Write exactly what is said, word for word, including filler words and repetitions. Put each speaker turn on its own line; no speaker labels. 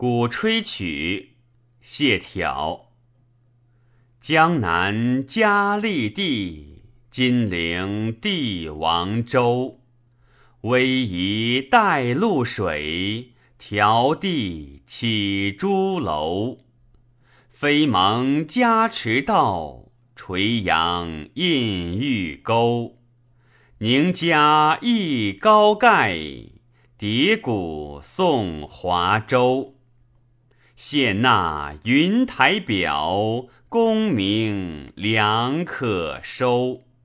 鼓吹曲，谢朓。江南嘉历帝，金陵帝王州。逶迤带露水，迢递起朱楼。飞蒙加持道，垂杨印玉钩。宁家忆高盖，叠鼓颂华州。献纳云台表，功名良可收。